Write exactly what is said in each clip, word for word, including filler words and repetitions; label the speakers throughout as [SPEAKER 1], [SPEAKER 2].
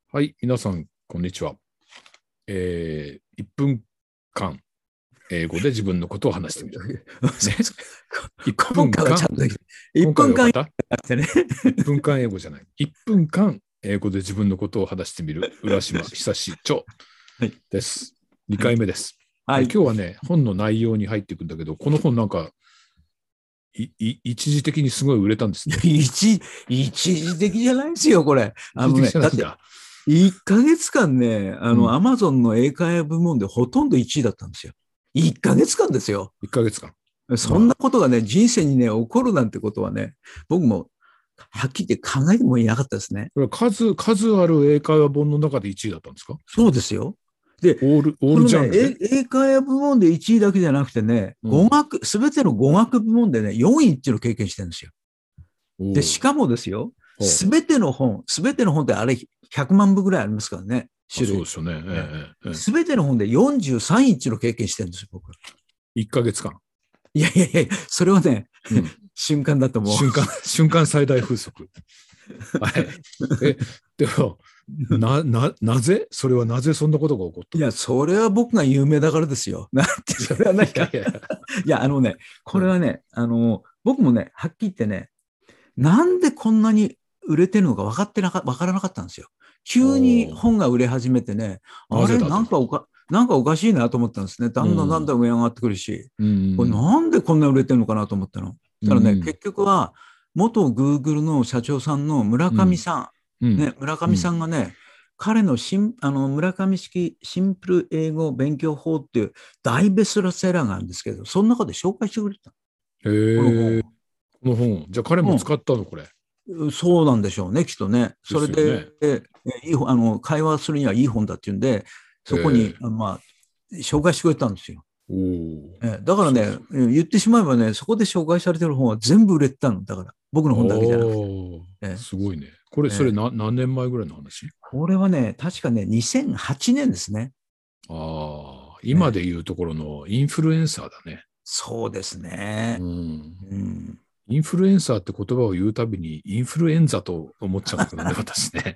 [SPEAKER 1] はい、皆さん、こんにちは。えー、いっぷんかん、英語で自分のことを話してみる。ね、いっぷんかん、今回はよかった ?いっ 分間英語じゃない。いっぷんかん、英語で自分のことを話してみる、浦島久志長です。にかいめです。はい、今日はね、本の内容に入っていくんだけど、この本なんか、いい一時的にすごい売れたんですね。
[SPEAKER 2] 一, 一時的じゃないですよ、これ。
[SPEAKER 1] あのね、だって
[SPEAKER 2] いっかげつかんね、あの、アマゾンの英会話部門でほとんどいちいだったんですよ。いっかげつかんですよ。
[SPEAKER 1] いっかげつか
[SPEAKER 2] ん。そんなことがね、人生にね、起こるなんてことはね、僕もはっきり言って考えてもいなかったですね。
[SPEAKER 1] これ数、数ある英会話本の中でいちいだったんですか？
[SPEAKER 2] そうですよ。で、
[SPEAKER 1] オール、オールジャンルで、
[SPEAKER 2] ね、英会話部門でいちいだけじゃなくてね、うん、語学、すべての語学部門でね、よんいっていうのを経験してるんですよ。で、しかもですよ、すべての本、すべての本ってあれひゃくまんぶぐらいありますからね、種類。
[SPEAKER 1] そうですよね。
[SPEAKER 2] すべての本でよんじゅうさんいっていうのを経験してるんですよ、僕。
[SPEAKER 1] いっかげつかん。
[SPEAKER 2] いやいやいや、それはね、うん、瞬間だと思う。
[SPEAKER 1] 瞬間、瞬間最大風速。はい。え、でも、な、な、なぜそれはなぜそんなことが起こったの？
[SPEAKER 2] いや、それは僕が有名だからですよ。なんて、それはないか。いやいや、いや、あのね、これはね、うん、あの、僕もね、はっきり言ってね、なんでこんなに売れてるのか分かってなか、分からなかったんですよ。急に本が売れ始めてね、あれ、なんかおか、なんかおかしいなと思ったんですね。だんだんだんだん上上がってくるし、うん、これなんでこんな売れてるのかなと思ったの。だからね、うん、結局は、元グーグルの社長さんの村上さん、うん、ね、村上さんがね、うん、彼のシンあの村上式シンプル英語勉強法っていう大ベストセラーがあるんですけど、その中で紹介してくれた。
[SPEAKER 1] へー、この本。じゃあ彼も使ったの、これ。
[SPEAKER 2] そうなんでしょうね、きっとね。それで、ね、いいあの会話するにはいい本だっていうんで、そこに、まあ、紹介してくれたんですよ。えだからねそうそう、言ってしまえばね、そこで紹介されてる本は全部売れてたの。だから、僕の本だけじゃなくて。
[SPEAKER 1] すごいね。これ、それな、何年前ぐらいの話？
[SPEAKER 2] これはね、確かね、にせんはちねんですね。
[SPEAKER 1] ああ、今でいうところのインフルエンサーだね。
[SPEAKER 2] そうですね。うん
[SPEAKER 1] うんインフルエンサーって言葉を言うたびにインフルエンザと思っちゃうんだけどね、私ね。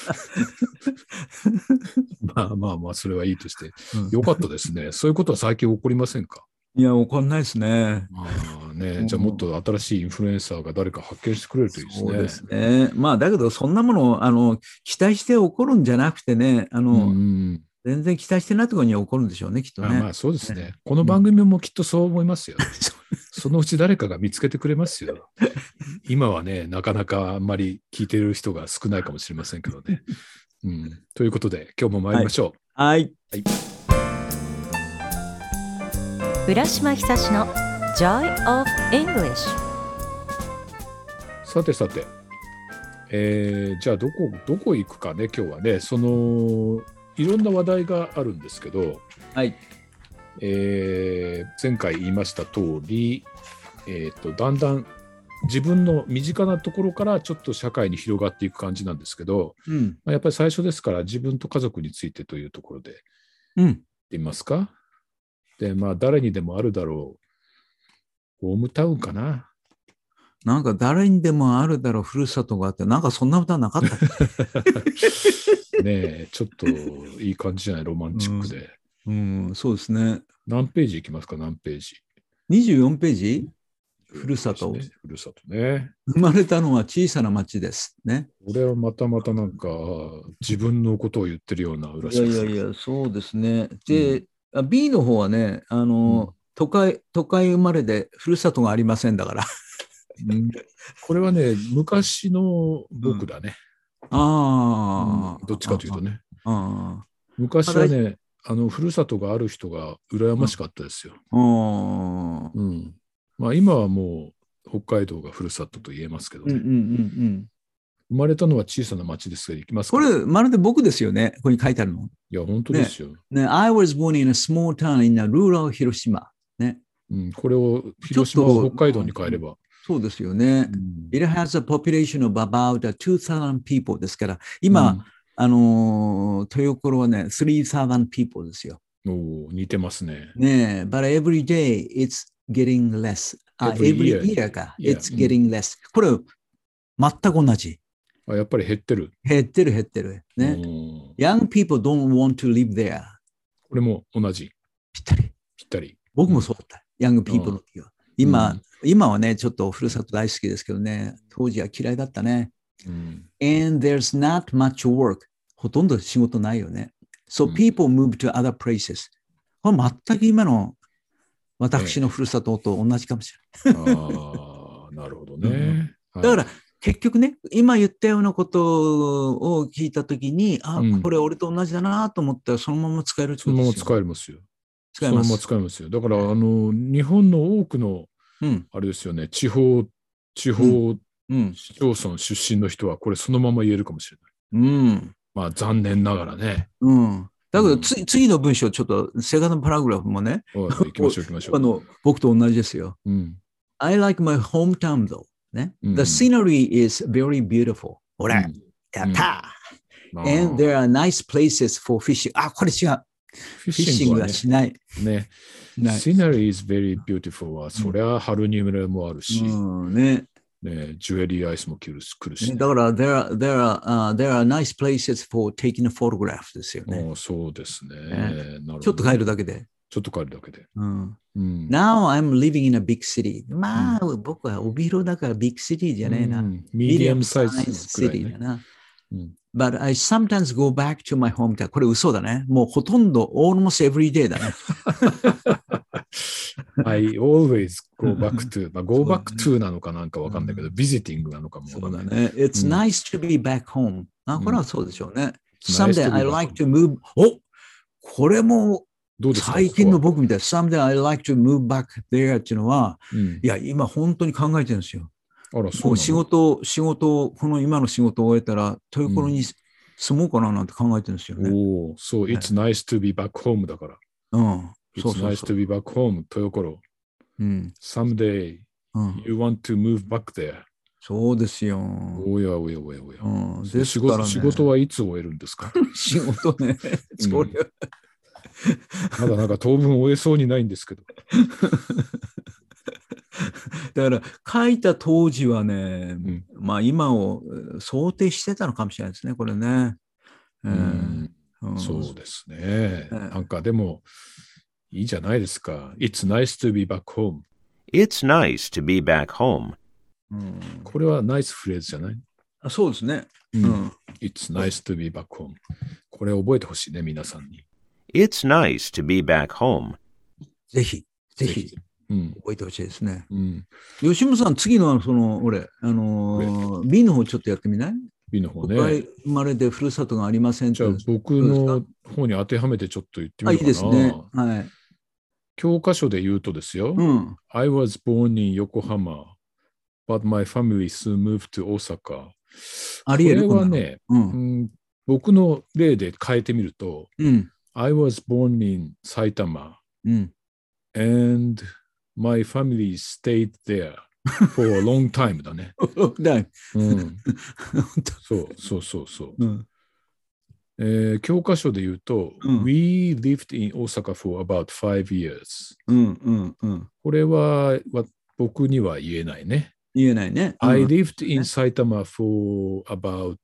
[SPEAKER 1] まあまあまあ、それはいいとして。よかったですね。そういうことは最近起こりませんか？
[SPEAKER 2] いや、起こんないですね。
[SPEAKER 1] まあね、じゃあもっと新しいインフルエンサーが誰か発見してくれるといいですね。
[SPEAKER 2] そうですね。まあ、だけど、そんなものをあの期待して起こるんじゃなくてね、あの、うん全然期待してないところに起こるんでしょうね、きっとね。
[SPEAKER 1] あまあそうですね。ねこの番組もきっとそう思いますよ。そのうち誰かが見つけてくれますよ。今はね、なかなかあんまり聞いてる人が少ないかもしれませんけどね。うん、ということで、今日も参りましょう。
[SPEAKER 2] はい。はい
[SPEAKER 3] はい、浦島久志の Joy of English。
[SPEAKER 1] さてさて、えー、じゃあどこ、どこ行くかね、今日はね。その、いろんな話題があるんですけど、
[SPEAKER 2] はい
[SPEAKER 1] えー、前回言いました通り、えーと、だんだん自分の身近なところからちょっと社会に広がっていく感じなんですけど、うんまあ、やっぱり最初ですから自分と家族についてというところで言ってみますか、うん、でまあ誰にでもあるだろうホームタウンかな。
[SPEAKER 2] なんか誰にでもあるだろうふるさとがあって、なんかそんな歌なかったっ
[SPEAKER 1] けねえちょっといい感じじゃない、ロマンチックで、
[SPEAKER 2] うんうん、そうですね。
[SPEAKER 1] 何ページいきますか？何ページ？
[SPEAKER 2] にじゅうよんページ。ふるさと、
[SPEAKER 1] ね、ふるさとね。
[SPEAKER 2] 生まれたのは小さな町ですね。
[SPEAKER 1] これはまたまたなんか自分のことを言ってるような浦島さん。
[SPEAKER 2] いやいやいや、そうですね。で、うん、ビー の方はね、あの、うん、都会、都会生まれでふるさとがありませんだから。
[SPEAKER 1] うん、これはね、昔の僕だね。
[SPEAKER 2] うん、ああ、
[SPEAKER 1] うん、どっちかというとね。ああ昔はね、あの、ふるさとがある人が羨ましかったですよ。うん。うん、まあ今はもう北海道がふるさとと言えますけどね。うんうんうんうん生まれたのは小さな町ですが、行きますか？
[SPEAKER 2] これ、まるで僕ですよね。ここに書いてあるの。
[SPEAKER 1] いや、本当ですよ。
[SPEAKER 2] ね、ね I was born in a small town in a rural 広島。ね。
[SPEAKER 1] うん、これを広島を北海道に変えれば。
[SPEAKER 2] そうですよね。うん、It has a population of about two thousand people ですから、今、うん、あのー、豊頃はね、three thousand people ですよ。
[SPEAKER 1] お似てますね。
[SPEAKER 2] ねえ、but every day it's getting less. あ、every year, every year か。Yeah. It's getting less. これ、全く同じ。
[SPEAKER 1] あ、やっぱり減ってる。
[SPEAKER 2] 減ってる減ってる。ね。Young people don't want to live there.
[SPEAKER 1] これも同じ。
[SPEAKER 2] ぴったり。
[SPEAKER 1] ぴったり。
[SPEAKER 2] 僕もそうだった。ヤングピープルの時は。今、
[SPEAKER 1] うん、
[SPEAKER 2] 今はね、ちょっとふるさと大好きですけどね、当時は嫌いだったね。
[SPEAKER 1] うん、
[SPEAKER 2] And there's not much work. ほとんど仕事ないよね。So people move to other places. これ全く今の私のふるさとと同じかもしれない。
[SPEAKER 1] ああ、なるほどね。
[SPEAKER 2] うん、だから、結局ね、今言ったようなことを聞いたときに、あ、うん、これ俺と同じだなと思ったら、そのまま使えるってことですよ。
[SPEAKER 1] そのまま使えますよ。
[SPEAKER 2] 使えます。
[SPEAKER 1] そのまま使えますよ。だから、あの、日本の多くの、うん、あれですよね、地方、地方、うん、市町村出身の人は、これそのまま言えるかもしれない。うん。まあ、残念ながらね。
[SPEAKER 2] うん。だけど、つ、うん、次の文章、ちょっと、セカンドパラグラフもね、
[SPEAKER 1] 行きましょう、行きましょう。
[SPEAKER 2] あの、僕と同じですよ。うん、I like my hometown though. ね。うん、The scenery is very beautiful. ほら、うん、やったー、うん、And there are nice places for fishing. あ、これ違う。フィッシングはしない。
[SPEAKER 1] ね。Scenery is very beautiful は、そりゃ、ハルニムレもあるし、
[SPEAKER 2] うん、ね。
[SPEAKER 1] ね、ジュエリーアイスも来るし、来るし、ね。
[SPEAKER 2] だから、there are, there are,、uh, there are nice places for taking a photograph ですよね。
[SPEAKER 1] そうですね。
[SPEAKER 2] ね、ちょっと帰るだけで。
[SPEAKER 1] ちょっと帰るだけで。
[SPEAKER 2] うんうん、Now I'm living in a big city. まあ、うん、僕は帯広だからビッグシティじゃねえな。
[SPEAKER 1] ミディアムサイズ
[SPEAKER 2] シティだな。うん、But I sometimes go back to my hometown. これ嘘だね。もうほとんど almost every day だね。
[SPEAKER 1] I always go back to, まあ、go back to なのかなんかわかんないけど、visiting なのかもわかんない。
[SPEAKER 2] そうだね。It's nice to be back home. あ、これはそうでしょうね。Someday I like to move. お、これも最近の僕みたい。Someday I like to move back there っていうのは、うん、いや、今本当に考えてるんですよ。
[SPEAKER 1] あら、そうなの？
[SPEAKER 2] 仕事、仕事、この今の仕事を終えたら、豊頃に住もうかななんて考えてるんですよね。
[SPEAKER 1] おお、そう、It's nice to be back home だから。
[SPEAKER 2] うん。
[SPEAKER 1] It's nice to be back home 豊頃。うん。Someday、うん、you want to move back there.
[SPEAKER 2] そうですよ。
[SPEAKER 1] おやおやおやおや。
[SPEAKER 2] うん、
[SPEAKER 1] ですからね、仕事、仕事はいつ終えるんですか？
[SPEAKER 2] 仕事ね。それ、うん、
[SPEAKER 1] まだなんか当分終えそうにないんですけど。
[SPEAKER 2] だから書いた当時はね、うん、まあ今を想定してたのかもしれないですね、これね。
[SPEAKER 1] うんうん、そうですね。なんかでもいいじゃないですか。It's nice to be back home.
[SPEAKER 4] It's nice to be back home.
[SPEAKER 1] うん、これはナイスフレーズじゃない？
[SPEAKER 2] あ、そうですね。
[SPEAKER 1] うん。It's nice to be back home. これ覚えてほしいね、皆さんに。
[SPEAKER 4] It's nice to be back home.
[SPEAKER 2] ぜひ、ぜひ。ぜひうん、覚えてほしいですね。うん、吉本さん、次のその、俺、あのー、B の方ちょっとやってみない？
[SPEAKER 1] B の方ね。
[SPEAKER 2] 生まれでふるさとがありません。
[SPEAKER 1] じゃあ、僕の方に当てはめてちょっと言ってみようかな。
[SPEAKER 2] あ、いいですね。はい。
[SPEAKER 1] 教科書で言うとですよ。
[SPEAKER 2] うん、
[SPEAKER 1] I was born in Yokohama, but my family soon moved to Osaka.
[SPEAKER 2] ありえる
[SPEAKER 1] これはね、うんうん、僕の例で変えてみると、
[SPEAKER 2] うん、
[SPEAKER 1] I was born in Saitama,
[SPEAKER 2] うん、
[SPEAKER 1] and my family stayed there for a long time だね。うん、そうそうそうそう。
[SPEAKER 2] うん
[SPEAKER 1] えー、教科書で言うと、うん、We lived in Osaka for about five years、
[SPEAKER 2] うんうんうん、
[SPEAKER 1] これは僕には言えないね。
[SPEAKER 2] 言えないね。
[SPEAKER 1] うん、I lived in Saitama for about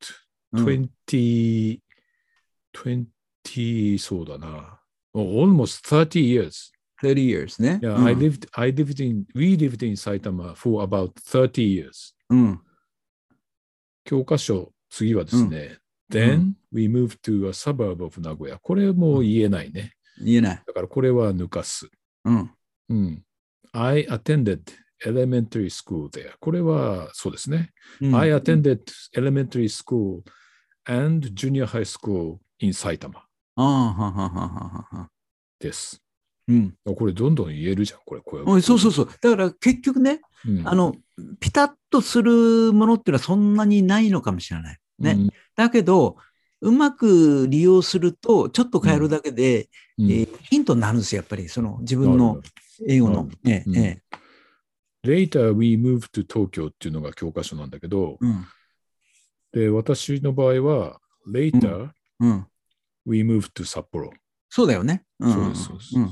[SPEAKER 1] twenty、うん、twenty そうだな。almost thirty years.
[SPEAKER 2] thirty years ね。
[SPEAKER 1] Yeah,、うん、I lived, I lived in, we lived in Saitama for about thirty years.
[SPEAKER 2] うん、
[SPEAKER 1] 教科書、次はですね。うん、Then we moved to a suburb of Nagoya. これも言えないね。
[SPEAKER 2] 言えない。
[SPEAKER 1] だからこれは抜かす。
[SPEAKER 2] うん。
[SPEAKER 1] うん。I attended elementary school there. これはそうですね。うん、I attended elementary school and junior high school in Saitama.
[SPEAKER 2] ああ、ははははは。
[SPEAKER 1] です。
[SPEAKER 2] うん、
[SPEAKER 1] これどんどん言えるじゃん、これ。こ
[SPEAKER 2] れそうそうそう。だから結局ね、うん、あの、ピタッとするものっていうのはそんなにないのかもしれない。ね。うん、だけど、うまく利用すると、ちょっと変えるだけで、うんえー、ヒントになるんですよ、やっぱり。その自分の英語の。えええ
[SPEAKER 1] え、Later we moved to Tokyo っていうのが教科書なんだけど、
[SPEAKER 2] うん、
[SPEAKER 1] で、私の場合は、Later、
[SPEAKER 2] うんうん、
[SPEAKER 1] we moved to Sapporo。
[SPEAKER 2] そうだよね。
[SPEAKER 1] うん、そうです、そうです。うんうん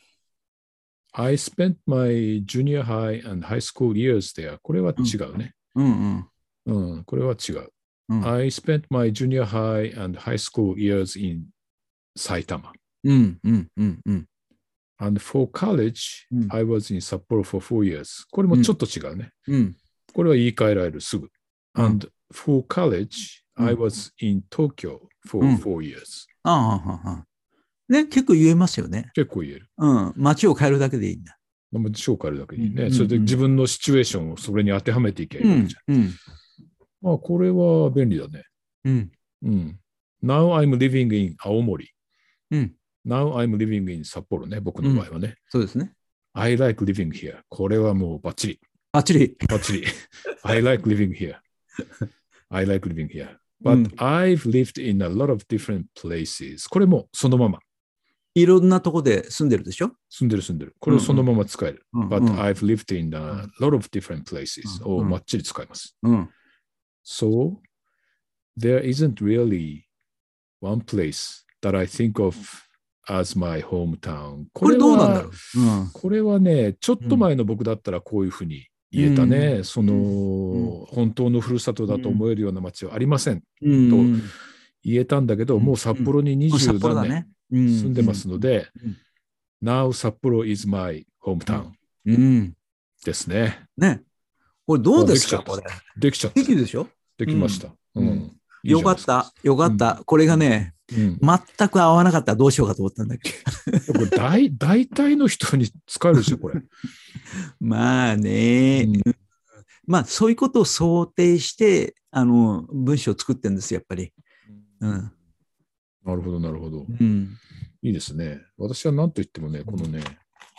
[SPEAKER 1] 、I spent my junior high and high school years there. これは違うね。
[SPEAKER 2] うんうん
[SPEAKER 1] うん、これは違う。
[SPEAKER 2] うん
[SPEAKER 1] I spent my junior high and high school years in Saitama.
[SPEAKER 2] うんうんうんうん
[SPEAKER 1] And for college,
[SPEAKER 2] うん
[SPEAKER 1] I was in Sapporo for four years.これもちょっと違うね。
[SPEAKER 2] うん
[SPEAKER 1] これは言い換えられる、すぐ。
[SPEAKER 2] うん
[SPEAKER 1] And for college,
[SPEAKER 2] うん
[SPEAKER 1] I was in Tokyo
[SPEAKER 2] う
[SPEAKER 1] for
[SPEAKER 2] ん
[SPEAKER 1] four years.
[SPEAKER 2] ああ、ああ、ああ。ね、結構言えますよね。
[SPEAKER 1] 結構言える。
[SPEAKER 2] うん。街を変えるだけでいいんだ。
[SPEAKER 1] まあ章変えるだけでいいね。
[SPEAKER 2] うん
[SPEAKER 1] それで自分のシチュエーションをそれに当てはめていけばいいわけじゃん。
[SPEAKER 2] うん。
[SPEAKER 1] まあ、これは便利だね。
[SPEAKER 2] うん。
[SPEAKER 1] うん。Now I'm living in 青森。
[SPEAKER 2] うん。
[SPEAKER 1] Now I'm living in 札幌ね。僕の場合はね。
[SPEAKER 2] そうですね。
[SPEAKER 1] I like living here. これはもうバッチリ。
[SPEAKER 2] バッチリ。
[SPEAKER 1] バッチリ。I like living here. I like living here. But、
[SPEAKER 2] うん、
[SPEAKER 1] I've lived in a lot of different places. これもそのまま。
[SPEAKER 2] いろんなとこで住んでるでしょ。
[SPEAKER 1] 住んでる住んでる。これをそのまま使える。
[SPEAKER 2] うんうん、
[SPEAKER 1] But、
[SPEAKER 2] うん、
[SPEAKER 1] I've lived in a lot of different places、
[SPEAKER 2] うん、
[SPEAKER 1] をバッチリ使います。
[SPEAKER 2] うん。
[SPEAKER 1] So, there isn't really one place that I think of as my hometown.
[SPEAKER 2] これどうなんだろう、うん、
[SPEAKER 1] これはね、ちょっと前の僕だったらこういうふうに言えたね。うん、その、うん、本当のふるさとだと思えるような街はありません、うん、と言えたんだけど、うん、もう札幌ににじゅう何年住んでますので、Now 札幌 is my hometown、うん、ですね。
[SPEAKER 2] ね。これどうですか、これ。
[SPEAKER 1] できちゃった。
[SPEAKER 2] できるでしょ。
[SPEAKER 1] できました。うん。うん
[SPEAKER 2] いいよかった、よかった。うん、これがね、うん、全く合わなかったらどうしようかと思ったんだけ
[SPEAKER 1] ど。これ大、大体の人に使えるでしょ、これ。
[SPEAKER 2] まあね、うん、まあそういうことを想定して、あの、文章を作ってるんですよ、やっぱり。うん。
[SPEAKER 1] なるほど、なるほど。
[SPEAKER 2] うん、
[SPEAKER 1] いいですね。私は何と言ってもね、このね、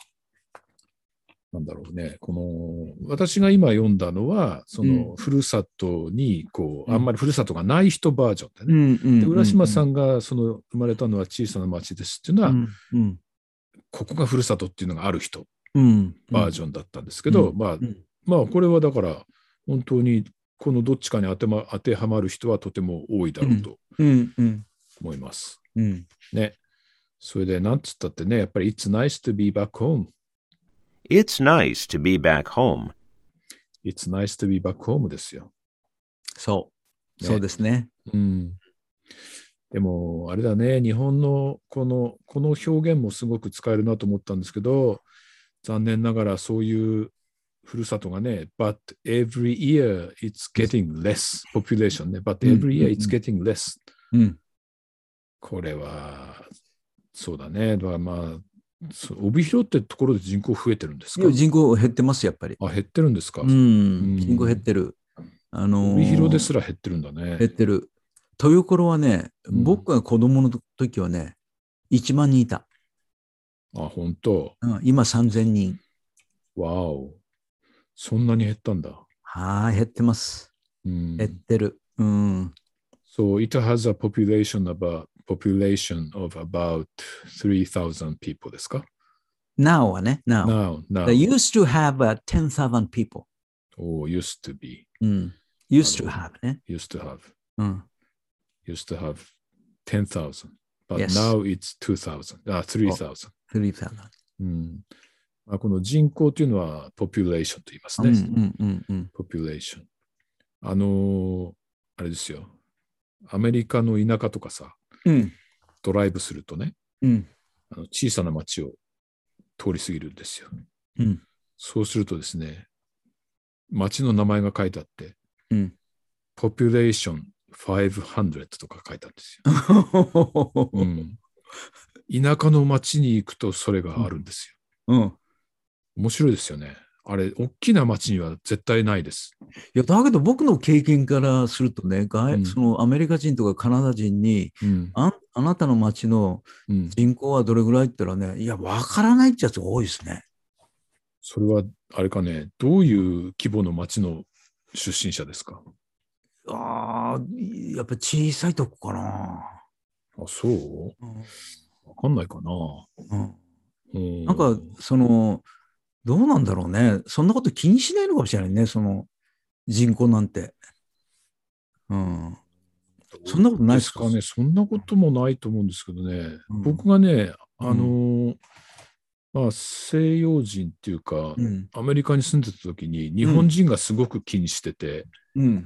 [SPEAKER 1] なんだろうね、この私が今読んだのはそのふるさとにこう、うん、あんまりふるさとがない人バージョンでね、うん、で浦島さんがその生まれたのは小さな町ですっていうのは、うんうん、ここがふるさとっていうのがある人、うん、バージョンだったんですけど、うんまあ、うん、まあこれはだから本当にこのどっちかに当て、ま、当てはまる人はとても多いだろうと思います、うんうん、ね。それでなんつったってね、やっぱり It's nice to be back home。It's
[SPEAKER 4] nice to be back home.
[SPEAKER 1] It's nice to be back home ですよ。
[SPEAKER 2] そう。ね、そうですね。
[SPEAKER 1] うん。でも、あれだね、日本のこの、この表現もすごく使えるなと思ったんですけど、残念ながらそういうふるさとがね、but every year it's getting less population ね、but every year it's getting less、うん。これは、そうだね。だからまあ、帯広ってところで人口増えてるんですか？
[SPEAKER 2] いや人口減ってますやっぱり。
[SPEAKER 1] あ、減ってるんですか？
[SPEAKER 2] うん、うん、人口減ってる。あのー、
[SPEAKER 1] 帯広ですら減ってるんだね。
[SPEAKER 2] 減ってる。豊頃はね、うん、僕が子供の時はね、いちまんにんいた。
[SPEAKER 1] あ、本当。
[SPEAKER 2] うん、今さんぜんにん。
[SPEAKER 1] わお。そんなに減ったんだ。
[SPEAKER 2] はい、減ってます。うん、減ってる。うん。
[SPEAKER 1] So it has a population about population of about three thousand people ですか？
[SPEAKER 2] Now はね、now.
[SPEAKER 1] Now, now.
[SPEAKER 2] They used to have、uh, ten thousand people.
[SPEAKER 1] Oh, used to be.
[SPEAKER 2] うん。used to have ね。
[SPEAKER 1] used to have.
[SPEAKER 2] うん。
[SPEAKER 1] used to have ten thousand. But
[SPEAKER 2] Yes.
[SPEAKER 1] now it's two thousand. あ、three thousand.
[SPEAKER 2] three thousand.
[SPEAKER 1] うん。まあ、この人口というのは population と言いますね。
[SPEAKER 2] うんうんうんうん、
[SPEAKER 1] population。あのー、あれですよ。アメリカの田舎とかさ、
[SPEAKER 2] うん、
[SPEAKER 1] ドライブするとね、
[SPEAKER 2] うん、
[SPEAKER 1] あの小さな町を通り過ぎるんですよ、
[SPEAKER 2] うん。そう
[SPEAKER 1] するとですね、町の名前が書いてあって、
[SPEAKER 2] うん、
[SPEAKER 1] population five hundred とか書いてあるんですよ、うん。田舎の町に行くとそれがあるんです
[SPEAKER 2] よ。うん、
[SPEAKER 1] 面白いですよね。あれ、大きな町には絶対ないです。
[SPEAKER 2] いや、だけど僕の経験からするとね、うん、そのアメリカ人とかカナダ人に、うん、あ, あなたの町の人口はどれぐらいって言ったらね、うん、いや、わからないってやつが多いですね。
[SPEAKER 1] それは、あれかね、どういう規模の町の出身者ですか？
[SPEAKER 2] ああ、やっぱ小さいとこかな。
[SPEAKER 1] あ、そう？うん、わかんないかな。
[SPEAKER 2] うんうん、なんか、その、どうなんだろうね。そんなこと気にしないのかもしれないね。その人口なんて。うん。そんなことないですか
[SPEAKER 1] ね。そんなこともないと思うんですけどね。うん、僕がね、あの、うん、まあ西洋人っていうか、うん、アメリカに住んでた時に日本人がすごく気にしてて、うん、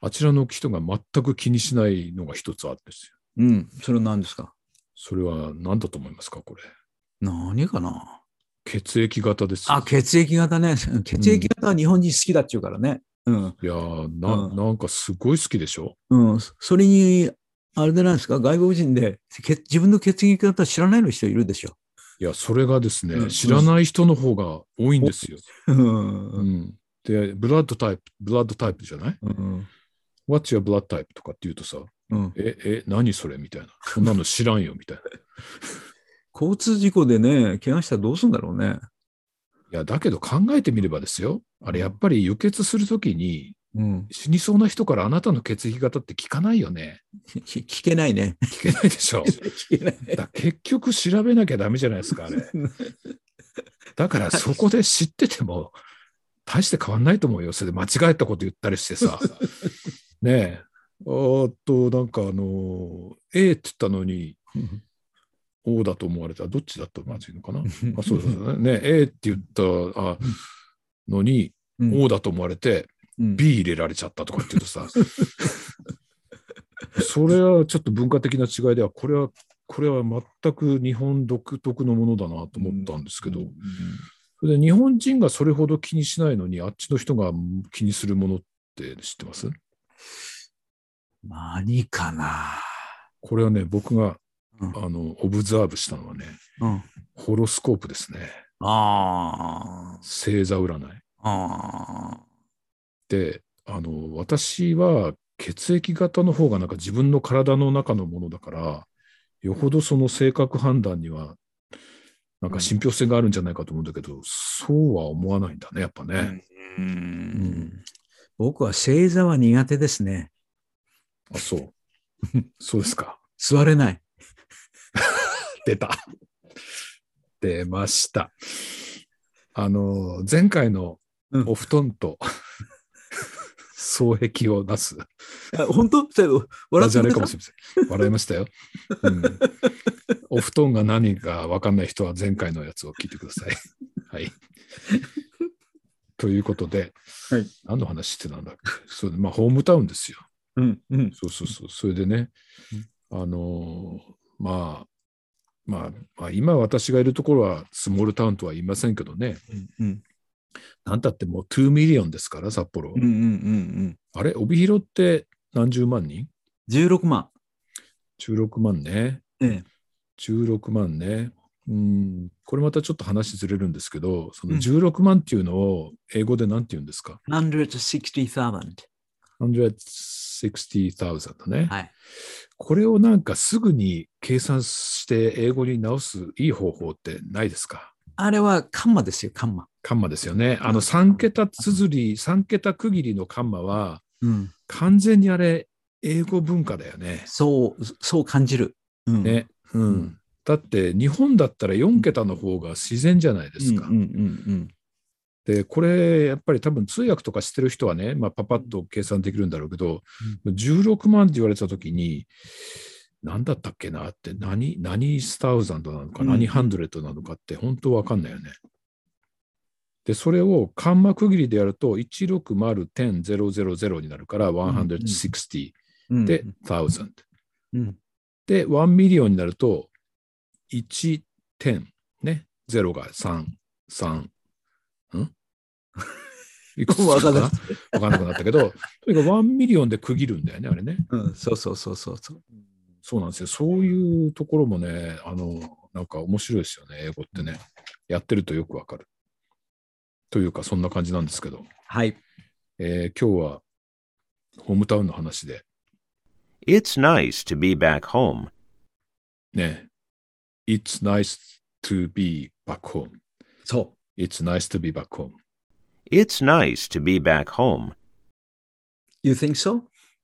[SPEAKER 1] あちらの人が全く気にしないのが一つあるんですよ。
[SPEAKER 2] うん。それは何ですか？
[SPEAKER 1] それは何だと思いますか、これ。
[SPEAKER 2] 何かな。
[SPEAKER 1] 血液型ですよ。
[SPEAKER 2] あ、血液型ね。血液型は日本人好きだっちゅうからね。うん。
[SPEAKER 1] いやーな、
[SPEAKER 2] うん
[SPEAKER 1] なんかすごい好きでしょ。
[SPEAKER 2] うん。それに、あれでなんですか、外国人でけ自分の血液型知らないの人いるでしょ。
[SPEAKER 1] いや、それがですね、
[SPEAKER 2] うん
[SPEAKER 1] 知らない人の方が多いんですよ。
[SPEAKER 2] うん
[SPEAKER 1] う。ん。で、ブラッドタイプ、ブラッドタイプじゃない？
[SPEAKER 2] うん。
[SPEAKER 1] What's your blood type とかって言うとさ、
[SPEAKER 2] うん。
[SPEAKER 1] え、え、何それみたいな。そんなの知らんよみたいな。
[SPEAKER 2] 交通事故でね、怪我したらどうするんだろうね。
[SPEAKER 1] いや、だけど考えてみればですよ。あれ、やっぱり輸血するときに、
[SPEAKER 2] うん。
[SPEAKER 1] 死にそうな人からあなたの血液型って聞かないよね。
[SPEAKER 2] 聞聞けないね。
[SPEAKER 1] 聞けないでしょ。
[SPEAKER 2] 聞けない。
[SPEAKER 1] だ結局調べなきゃダメじゃないですか、あれ。だからそこで知ってても、大して変わんないと思うよ。それで間違えたこと言ったりしてさ。ねえ。あと、なんかあの、A って言ったのに、O だと思われたら、どっちだとまずいのかな。あ、そうそうね。A って言ったあのに、
[SPEAKER 2] うん
[SPEAKER 1] O だと思われて、
[SPEAKER 2] うん
[SPEAKER 1] B 入れられちゃったとかって言うとさ、それはちょっと文化的な違いでは、これは、これは全く日本独特のものだなと思ったんですけど、それで日本人がそれほど気にしないのに、あっちの人が気にするものって知ってます？
[SPEAKER 2] 何かな。
[SPEAKER 1] これはね、僕が、
[SPEAKER 2] うん
[SPEAKER 1] あの、オブザーブしたのはね、
[SPEAKER 2] うん。
[SPEAKER 1] ホロスコープですね。
[SPEAKER 2] あ
[SPEAKER 1] 星座占い。
[SPEAKER 2] あ。あ
[SPEAKER 1] で、あの、私は血液型の方がなんか自分の体の中のものだから、よほどその性格判断には、なんか信憑性があるんじゃないかと思うんだけど、そうは思わないんだね、やっぱ
[SPEAKER 2] あ。
[SPEAKER 1] ね。
[SPEAKER 2] う
[SPEAKER 1] うんん。
[SPEAKER 2] 僕は星座は苦手ですね。
[SPEAKER 1] あ、そう。そうですか。
[SPEAKER 2] 座れない。
[SPEAKER 1] 出た。出ました。あの、前回の
[SPEAKER 2] うん
[SPEAKER 1] お布団と双璧を出す。
[SPEAKER 2] あ本当？それ笑って
[SPEAKER 1] ダジャレ
[SPEAKER 2] くれた
[SPEAKER 1] かもしれません。笑いましたよ。うん、お布団が何か分かんない人は前回のやつを聞いてください。はい。ということで、
[SPEAKER 2] はい、
[SPEAKER 1] 何の話してたんだっけ？そうで、まあ、ホームタウンですよ。
[SPEAKER 2] うんうん。
[SPEAKER 1] そうそうそう。それでね、あのーまあ、まあ、まあ、今私がいるところはスモールタウンとは言いませんけどね。
[SPEAKER 2] うん
[SPEAKER 1] なんだってもうにミリオンですから、札幌。
[SPEAKER 2] うんうんうんうん
[SPEAKER 1] あれ、帯広って何十万人？
[SPEAKER 2] じゅうろくまん。
[SPEAKER 1] じゅうろくまんね。
[SPEAKER 2] ええ。
[SPEAKER 1] じゅうろくまんね。うん、これまたちょっと話ずれるんですけど、その
[SPEAKER 2] うん
[SPEAKER 1] じゅうろくまんっていうのを英語で何て言うんですか？
[SPEAKER 2] ひゃくろくじゅうさんまん。
[SPEAKER 1] ひゃくろくじゅうまんね。
[SPEAKER 2] はい。
[SPEAKER 1] これをなんかすぐに計算して英語に直すいい方法ってないですか？
[SPEAKER 2] あれはカンマですよ、カンマ。
[SPEAKER 1] カンマですよね。あのさん桁綴り、さん桁区切りのカンマは、
[SPEAKER 2] うん。
[SPEAKER 1] 完全にあれ、英語文化だよね。
[SPEAKER 2] そう、そう感じる。うん。
[SPEAKER 1] ね。うん。
[SPEAKER 2] うん
[SPEAKER 1] だって日本だったらよん桁の方が自然じゃないですか。
[SPEAKER 2] うんうんうん
[SPEAKER 1] で、これやっぱり多分通訳とかしてる人はね、まあ、パパッと計算できるんだろうけど、じゅうろくまんって言われたときに、何だったっけなって、何、何スタウザンドなのか、
[SPEAKER 2] うん
[SPEAKER 1] 何ハンドレットなのかって本当わかんないよね。で、それをカンマ区切りでやると、いちろくまる、じゅう、ゼロゼロゼロになるから、ひゃくろくじゅう
[SPEAKER 2] うん。
[SPEAKER 1] で、せん。
[SPEAKER 2] うん。
[SPEAKER 1] で、いちミリオンになると、いち、じゅう、ね、ゼロがさん、さん、んいくつかな
[SPEAKER 2] わかんない
[SPEAKER 1] わかんなくなったけど、とにかくいちミリオンで区切るんだよね、あれね。
[SPEAKER 2] うん。そうそうそうそうそう。
[SPEAKER 1] そうなんですよ。そういうところもね、あの、なんか面白いですよね、英語ってね。やってるとよくわかる。というか、そんな感じなんですけど、
[SPEAKER 2] はい。
[SPEAKER 1] えー今日はホームタウンの話で、
[SPEAKER 4] It's nice to be back home.
[SPEAKER 1] ね、It's nice to be back home.
[SPEAKER 2] そ
[SPEAKER 1] It's nice to be back home.
[SPEAKER 4] It's nice to be back home.
[SPEAKER 2] う。You think so?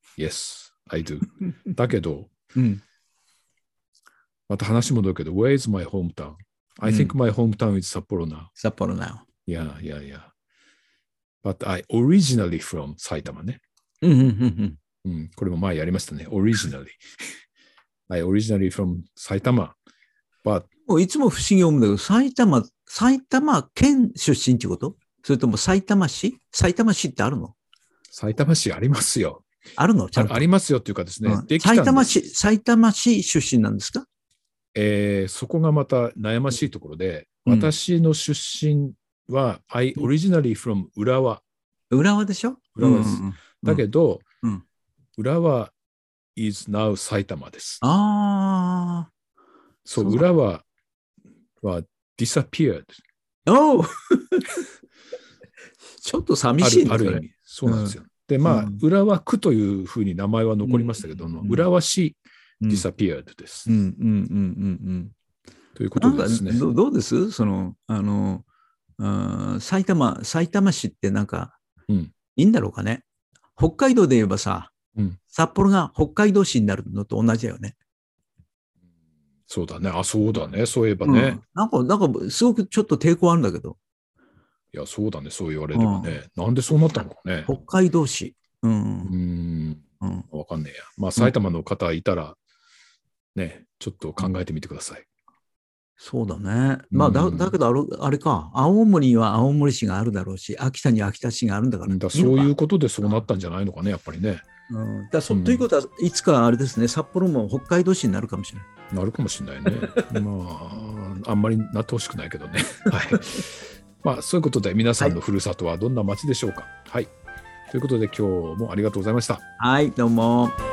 [SPEAKER 1] Yes, I do. だけど、
[SPEAKER 2] うん。
[SPEAKER 1] また話戻るけど、Where is my hometown? I think my hometown is Sapporo now.
[SPEAKER 2] 札幌 now.
[SPEAKER 1] Yeah, yeah, yeah. But I originally from 埼玉ね。
[SPEAKER 2] うんうんうん
[SPEAKER 1] うん、これも前やりましたね。originally. I originally from 埼玉。But
[SPEAKER 2] もういつも不思議に思うんだけど、埼玉、埼玉県出身ってこと？それとも埼玉市？埼玉市ってあるの？
[SPEAKER 1] 埼玉市ありますよ。
[SPEAKER 2] あるのちゃんと。
[SPEAKER 1] あありますよっていうかですね、
[SPEAKER 2] うん
[SPEAKER 1] できたんです。
[SPEAKER 2] 埼玉市、埼玉市出身なんですか？
[SPEAKER 1] えーそこがまた悩ましいところで、
[SPEAKER 2] うん
[SPEAKER 1] 私の出身は、I originally from 浦和。
[SPEAKER 2] 浦和でしょ？
[SPEAKER 1] 浦和です。
[SPEAKER 2] うんうんうん
[SPEAKER 1] だけど、
[SPEAKER 2] うん
[SPEAKER 1] 浦和 is now 埼玉です。
[SPEAKER 2] ああ。
[SPEAKER 1] そう、
[SPEAKER 2] そう
[SPEAKER 1] 浦和は disappeared。
[SPEAKER 2] おうちょっと寂
[SPEAKER 1] あ
[SPEAKER 2] しいね、それ。
[SPEAKER 1] るある意味。そうなんですよ。で、まあ、
[SPEAKER 2] うん
[SPEAKER 1] 浦和区というふうに名前は残りましたけども、
[SPEAKER 2] うん
[SPEAKER 1] 浦和市
[SPEAKER 2] うん
[SPEAKER 1] disappeared です。
[SPEAKER 2] うんうんうんうんうん
[SPEAKER 1] というこ
[SPEAKER 2] なんか
[SPEAKER 1] とでですね。
[SPEAKER 2] どどうですその、あの、あー埼玉、埼玉市ってなんか、
[SPEAKER 1] うん
[SPEAKER 2] いいんだろうかね。北海道で言えばさ、
[SPEAKER 1] うん
[SPEAKER 2] 札幌が北海道市になるのと同じだよね。
[SPEAKER 1] そうだね。あ、そうだね。そういえば
[SPEAKER 2] うん
[SPEAKER 1] ね。
[SPEAKER 2] なんか、なんか、すごくちょっと抵抗あるんだけど、
[SPEAKER 1] いや、そうだね。そう言われればね。なんでそうなったのかね。
[SPEAKER 2] 北海道市。う。
[SPEAKER 1] うんーん。
[SPEAKER 2] うん
[SPEAKER 1] わかんねえや。まあ、埼玉の方いたら、ね、ちょっと考えてみてください。
[SPEAKER 2] そうだね。まあ、だ
[SPEAKER 1] うん
[SPEAKER 2] だけどあれ、あれか、青森には青森市があるだろうし、秋田には秋田市があるんだから。
[SPEAKER 1] だから
[SPEAKER 2] いいのか
[SPEAKER 1] そういうことでそうなったんじゃないのかね、やっぱりね。
[SPEAKER 2] うん、だそ
[SPEAKER 1] うん
[SPEAKER 2] ということは、いつかあれですね、札幌も北海道市になるかもしれない。
[SPEAKER 1] なるかもしれないね。まあ、あんまりなってほしくないけどね。はい。まあ、そういうことで、皆さんのふるさとはどんな町でしょうか。はい。ということで、今日もありがとうございました。
[SPEAKER 2] はい、どうも。